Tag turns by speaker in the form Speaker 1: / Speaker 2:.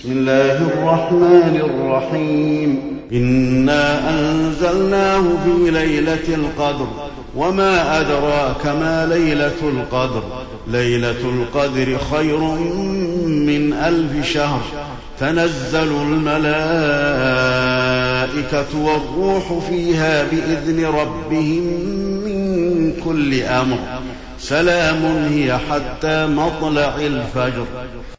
Speaker 1: بسم الله الرحمن الرحيم إنا أنزلناه في ليلة القدر وما أدراك ما ليلة القدر ليلة القدر خير من 1000 شهر تنزل الملائكة والروح فيها بإذن ربهم من كل أمر سلام هي حتى مطلع الفجر.